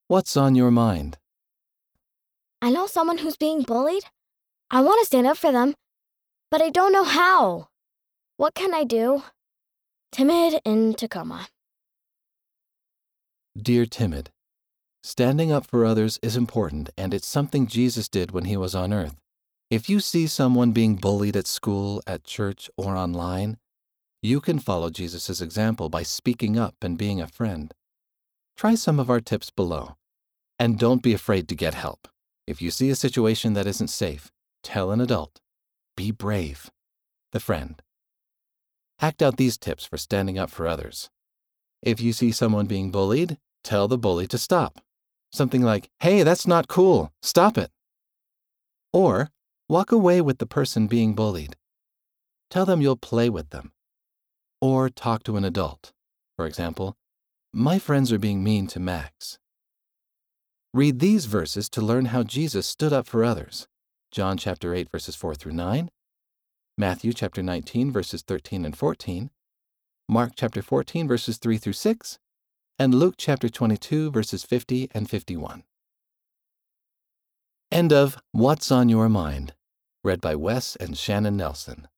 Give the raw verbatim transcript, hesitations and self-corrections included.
What's on your mind? I know someone who's being bullied. I want to stand up for them, but I don't know how. What can I do? Timid in Tacoma. Dear Timid, standing up for others is important, and it's something Jesus did when he was on earth. If you see someone being bullied at school, at church, or online, you can follow Jesus' example by speaking up and being a friend. Try some of our tips below. And don't be afraid to get help. If you see a situation that isn't safe, tell an adult. Be brave. The friend. Act out these tips for standing up for others. If you see someone being bullied, tell the bully to stop. Something like, "Hey, that's not cool. Stop it." Or, walk away with the person being bullied. Tell them you'll play with them. Or talk to an adult. For example, "My friends are being mean to Max." Read these verses to learn how Jesus stood up for others. John chapter eight, verses four through nine, Matthew chapter nineteen, verses thirteen and fourteen, Mark chapter fourteen, verses three through six, and Luke chapter twenty-two, verses fifty and fifty-one. End of What's on Your Mind, read by Wes and Shannon Nelson.